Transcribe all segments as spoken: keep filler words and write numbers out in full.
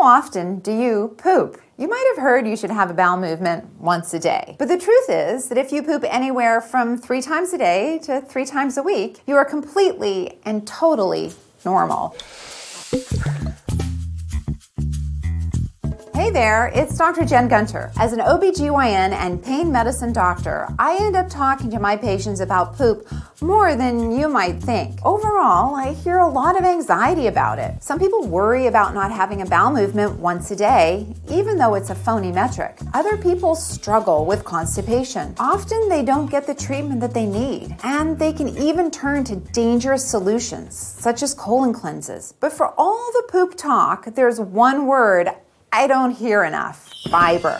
often do you poop? You might have heard you should have a bowel movement once a day. But the truth is that if you poop anywhere from three times a day to three times a week, you are completely and totally normal. Hey there, it's Doctor Jen Gunter. As an O B G Y N and pain medicine doctor, I end up talking to my patients about poop more than you might think. Overall, I hear a lot of anxiety about it. Some people worry about not having a bowel movement once a day, even though it's a phony metric. Other people struggle with constipation. Often they don't get the treatment that they need, and they can even turn to dangerous solutions, such as colon cleanses. But for all the poop talk, there's one word I don't hear enough: fiber.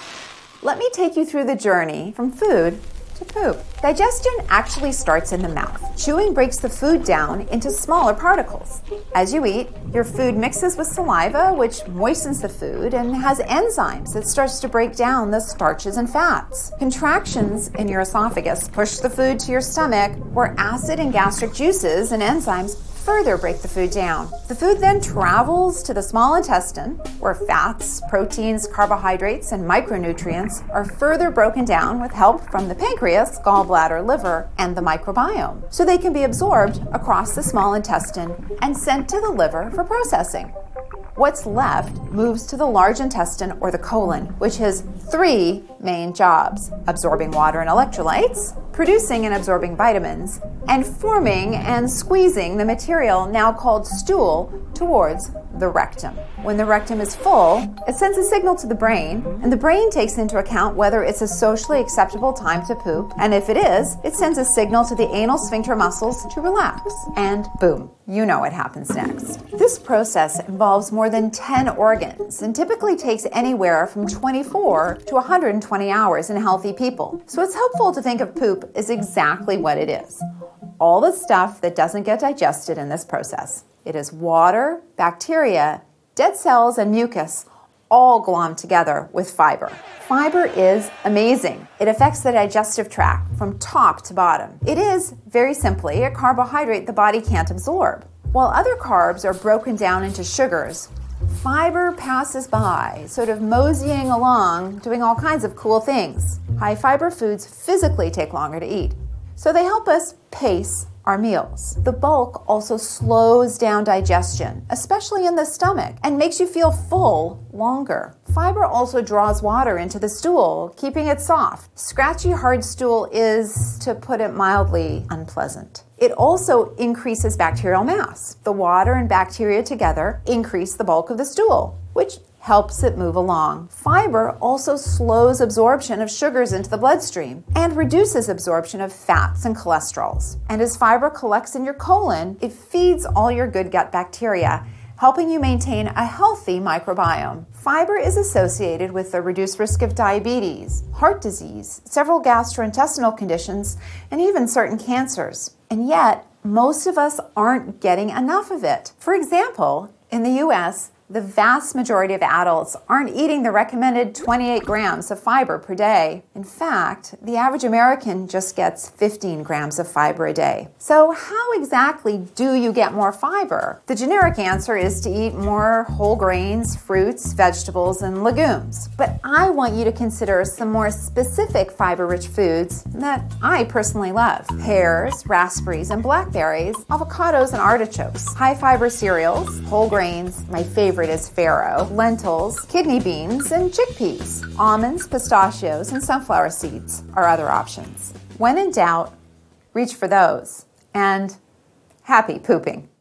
Let me take you through the journey from food to poop. Digestion actually starts in the mouth. Chewing breaks the food down into smaller particles. As you eat, your food mixes with saliva, which moistens the food and has enzymes that starts to break down the starches and fats. Contractions in your esophagus push the food to your stomach, where acid and gastric juices and enzymes further break the food down. The food then travels to the small intestine, where fats, proteins, carbohydrates, and micronutrients are further broken down with help from the pancreas, gallbladder, liver, and the microbiome, so they can be absorbed across the small intestine and sent to the liver for processing. What's left moves to the large intestine, or the colon, which has three main jobs: absorbing water and electrolytes, producing and absorbing vitamins, and forming and squeezing the material now called stool towards the rectum. When the rectum is full, it sends a signal to the brain, and the brain takes into account whether it's a socially acceptable time to poop, and if it is, it sends a signal to the anal sphincter muscles to relax. And boom, you know what happens next. This process involves more than ten organs and typically takes anywhere from twenty-four to one hundred twenty hours in healthy people. So it's helpful to think of poop as exactly what it is: all the stuff that doesn't get digested in this process. It is water, bacteria, dead cells, and mucus, all glommed together with fiber. Fiber is amazing. It affects the digestive tract from top to bottom. It is, very simply, a carbohydrate the body can't absorb. While other carbs are broken down into sugars, fiber passes by, sort of moseying along, doing all kinds of cool things. High fiber foods physically take longer to eat, so they help us pace our meals. The bulk also slows down digestion, especially in the stomach, and makes you feel full longer. Fiber also draws water into the stool, keeping it soft. Scratchy, hard stool is, to put it mildly, unpleasant. It also increases bacterial mass. The water and bacteria together increase the bulk of the stool, which helps it move along. Fiber also slows absorption of sugars into the bloodstream and reduces absorption of fats and cholesterols. And as fiber collects in your colon, it feeds all your good gut bacteria, helping you maintain a healthy microbiome. Fiber is associated with the reduced risk of diabetes, heart disease, several gastrointestinal conditions, and even certain cancers. And yet, most of us aren't getting enough of it. For example, in the U S, the vast majority of adults aren't eating the recommended twenty-eight grams of fiber per day. In fact, the average American just gets fifteen grams of fiber a day. So how exactly do you get more fiber? The generic answer is to eat more whole grains, fruits, vegetables, and legumes. But I want you to consider some more specific fiber-rich foods that I personally love: pears, raspberries, and blackberries, avocados, and artichokes, high-fiber cereals, whole grains, my favorite is farro, lentils, kidney beans, and chickpeas. Almonds, pistachios, and sunflower seeds are other options. When in doubt, reach for those. And happy pooping.